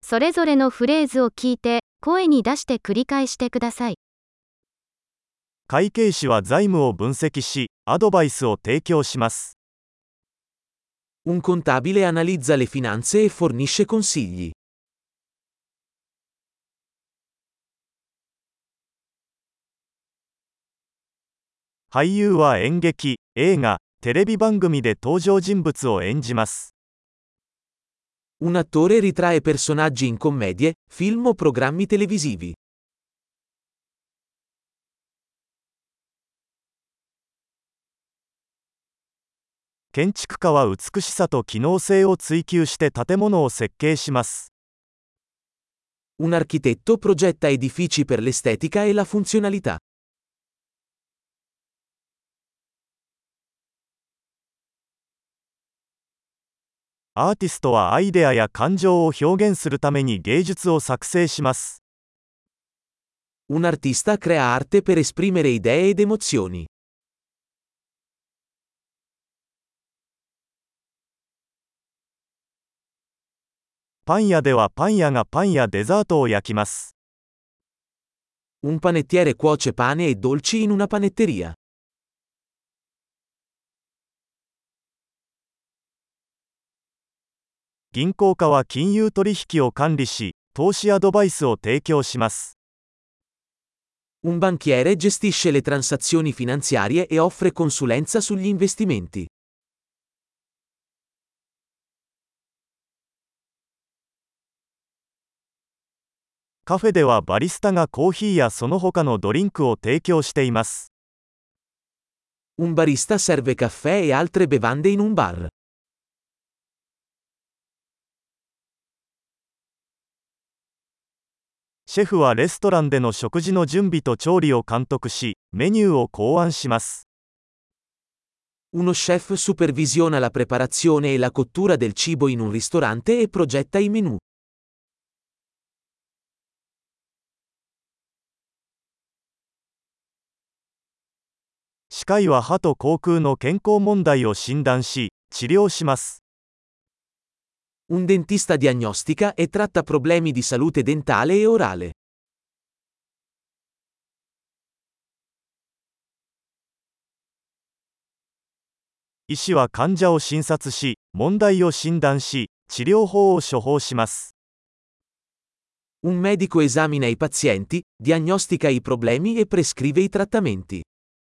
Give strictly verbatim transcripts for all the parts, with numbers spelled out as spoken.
それぞれのフレーズを聞いて、声に出して繰り返してください。 会計士は財務を分析し、アドバイスを提供します。 Un contabile analizza le finanze e fornisce consigli. 俳優は演劇、映画、テレビ番組で登場人物を演じます。 Un attore ritrae personaggi in commedie, film o programmi televisivi. 建築家は美しさと機能性を追求して建物を設計します。 Un architetto progetta edifici per l'estetica e la funzionalità. アーティストはアイデアや感情を表現するために芸術を作成します。 Un artista crea arte per esprimere idee ed emozioni. パン屋ではパン屋がパンやデザートを焼きます。 Un panettiere cuoce pane e dolci in una panetteria. 銀行家は金融取引を管理し、投資アドバイスを提供します。 Un banchiere gestisce le transazioni finanziarie e offre consulenza sugli investimenti. カフェではバリスタがコーヒーやその他のドリンクを提供しています。 Un barista serve caffè e altre bevande in un bar. シェフはレストランでの食事の準備と調理を監督し、メニューを考案します。 Uno chef supervisiona la preparazione e la cottura del cibo in un ristorante e progetta i menù. 歯科医は歯と口腔の健康問題を診断し、治療します。 Un dentista diagnostica e tratta problemi di salute dentale e orale. 医師は患者を診察し、問題を診断し、治療法を処方します。 Un medico esamina i pazienti, diagnostica i problemi e prescrive i trattamenti.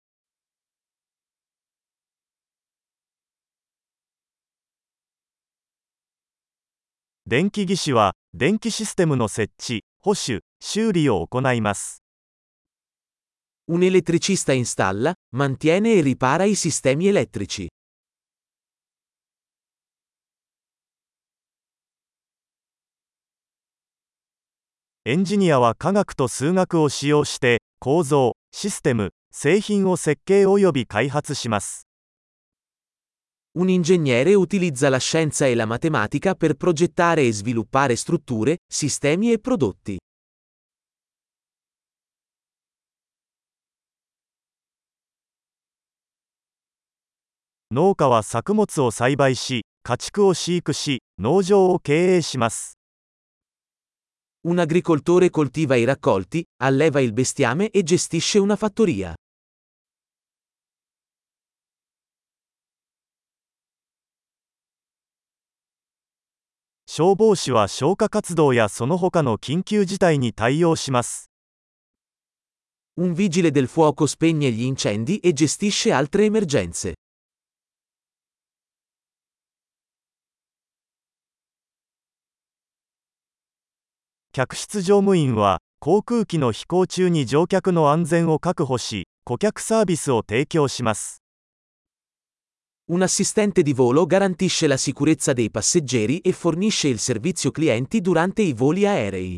電気技師は、電気システムの設置、保守、修理を行います。 Un elettricista installa, mantiene e ripara i sistemi elettrici. エンジニアは科学と数学を使用して、構造、システム、製品を設計および開発します。 Un ingegnere utilizza la scienza e la matematica per progettare e sviluppare strutture, sistemi e prodotti. 農家は作物を栽培し、家畜を飼育し、農場を経営します。 Un agricoltore coltiva i raccolti, alleva il bestiame e gestisce una fattoria. 消防士は消火活動やその他の緊急事態に対応します。 Un vigile del fuoco spegne gli incendi e gestisce altre emergenze. 客室乗務員は、航空機の飛行中に乗客の安全を確保し、顧客サービスを提供します。 Un assistente di volo garantisce la sicurezza dei passeggeri e fornisce il servizio clienti durante i voli aerei.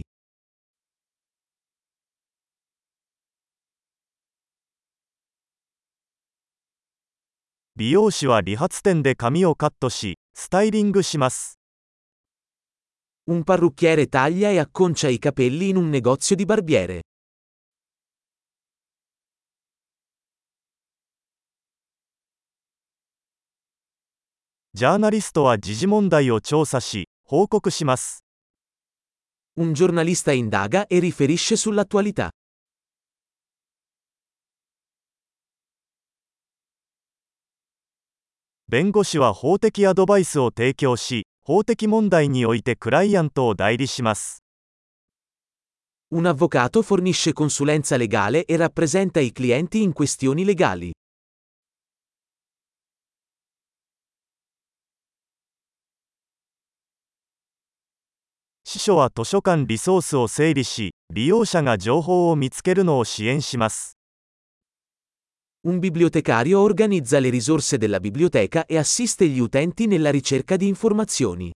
美容師は理髪店で髪をカットし、スタイリングします。 Un parrucchiere taglia e acconcia i capelli in un negozio di barbiere. ジャーナリストは時事問題を調査し、報告します。 Un giornalista indaga e riferisce sull'attualità. 弁護士は法的アドバイスを提供し、法的問題においてクライアントを代理します。 Un avvocato fornisce consulenza legale e rappresenta i clienti in questioni legali. 司書は図書館リソースを整理し、利用者が情報を見つけるのを支援します。 Un bibliotecario organizza le risorse della biblioteca e assiste gli utenti nella ricerca di informazioni.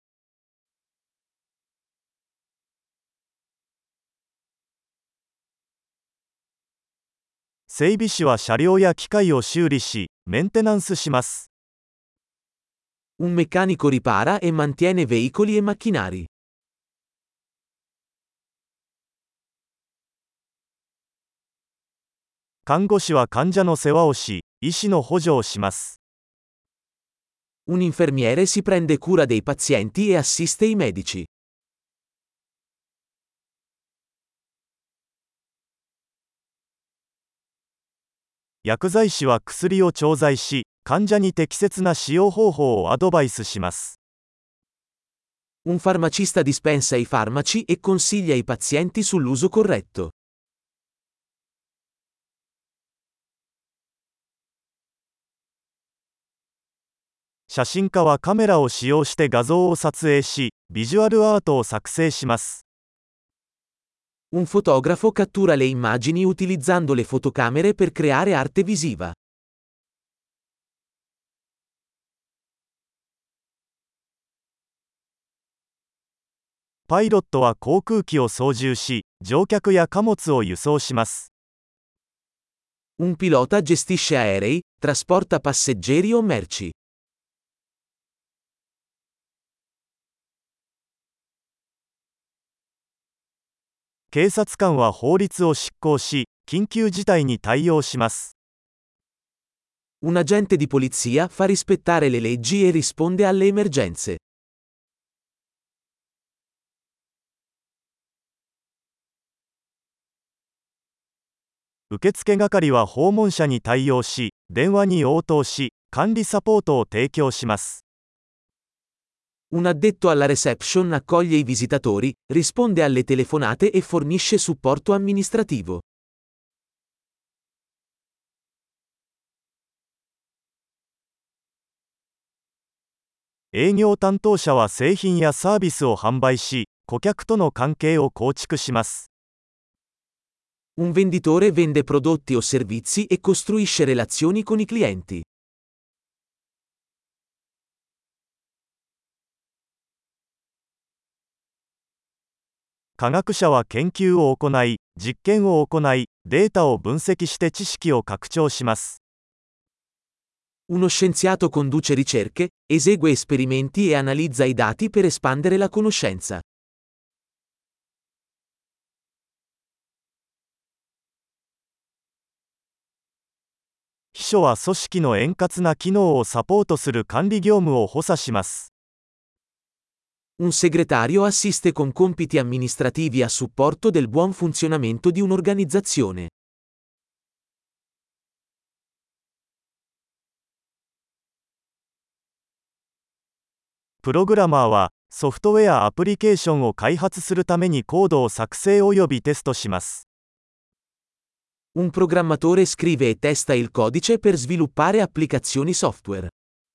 整備士は車両や機械を修理し、メンテナンスします。 Un meccanico ripara e mantiene veicoli e macchinari. 看護師は患者の世話をし、医師の補助をします。 Un infermiere si prende cura dei pazienti e assiste i medici. 薬剤師は薬を調剤し、患者に適切な使用方法をアドバイスします。 Un farmacista dispensa i farmaci e consiglia i pazienti sull'uso corretto. 写真家はカメラを使用して画像を撮影し、ビジュアルアートを作成します。 Un fotografo cattura le immagini utilizzando le fotocamere per creare arte visiva. パイロットは航空機を操縦し、乗客や貨物を輸送します。 Un pilota gestisce aerei, trasporta passeggeri o merci. 警察官は法律を執行し、緊急事態に対応します。 Un agente di polizia fa rispettare le leggi e risponde alle emergenze. 受付係は訪問者に対応し、電話に応答し、管理サポートを提供します。 Un addetto alla reception accoglie i visitatori, risponde alle telefonate e fornisce supporto amministrativo. 営業担当者は製品やサービスを販売し、顧客との関係を構築します。 Un venditore vende prodotti o servizi e costruisce relazioni con i clienti. 科学者は研究を行い、実験を行い、データを分析して知識を拡張します。 Uno scienziato conduce ricerche, esegue esperimenti e analizza i dati per espandere la conoscenza. 秘書は組織の円滑な機能をサポートする管理業務を補佐します。 Un segretario assiste con compiti amministrativi a supporto del buon funzionamento di un'organizzazione. プログラマーはソフトウェアアプリケーションを開発するためにコードを作成およびテストします。 Un programmatore scrive e testa il codice per sviluppare applicazioni software.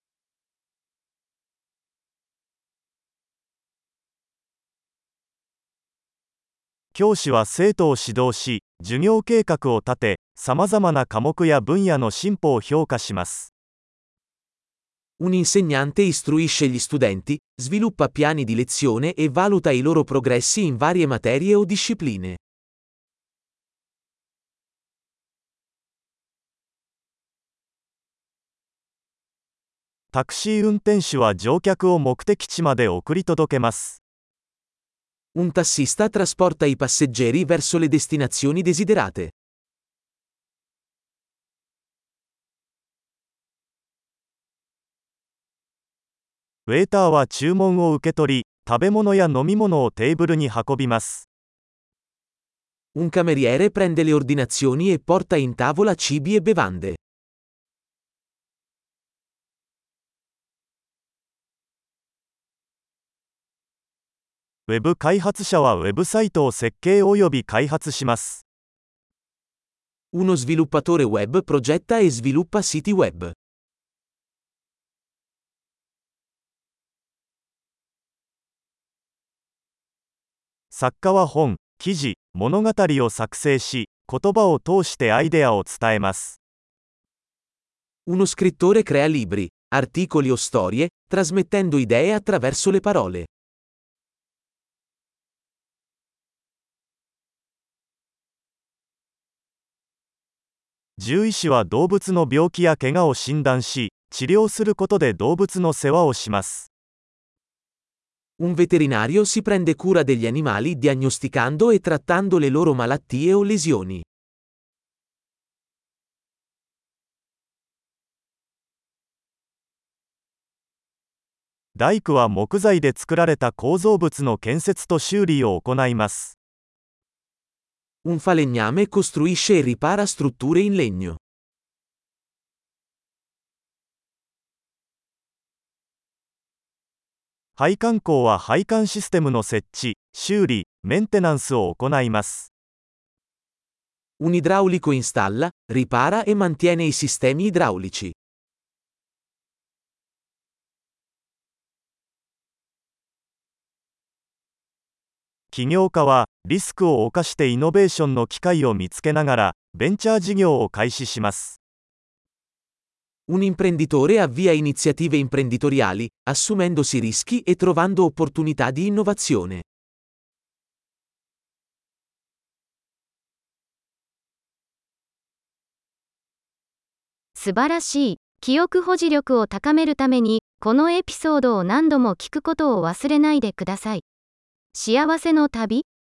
教師は生徒を指導し、授業計画を立て、さまざまな科目や分野の進歩を評価します。 Un insegnante istruisce gli studenti, sviluppa piani di lezione e valuta i loro progressi in varie materie o discipline. タクシー運転手は乗客を目的地まで送り届けます。 Un tassista trasporta i passeggeri verso le destinazioni desiderate. ウェイターは注文を受け取り、 食べ物や飲み物をテーブルに運びます。 Un cameriere prende le ordinazioni e porta in tavola cibi e bevande. ウェブ開発者はウェブサイトを設計および開発します。 Uno sviluppatore web progetta e sviluppa siti web. 作家は本、記事、物語を作成し、言葉を通してアイデアを伝えます。 Uno scrittore crea libri, articoli o storie, trasmettendo idee attraverso le parole. 獣医師は動物の病気や怪我を診断し、治療することで動物の世話をします。 Un veterinario si prende cura degli animali diagnosticando e trattando le loro malattie o lesioni. 大工は木材で作られた構造物の建設と修理を行います。 Un falegname costruisce e ripara strutture in legno. 配管工は配管システムの設置、修理、メンテナンスを行います。 Un idraulico installa, ripara e mantiene i sistemi idraulici. 起業家はリスクを冒してイノベーションの機会を見つけながらベンチャー事業を開始します。 Un imprenditore avvia iniziative imprenditoriali, assumendosi rischi e trovando opportunità di innovazione. 素晴らしい。記憶保持力を高めるために、このエピソードを何度も聞くことを忘れないでください。幸せの旅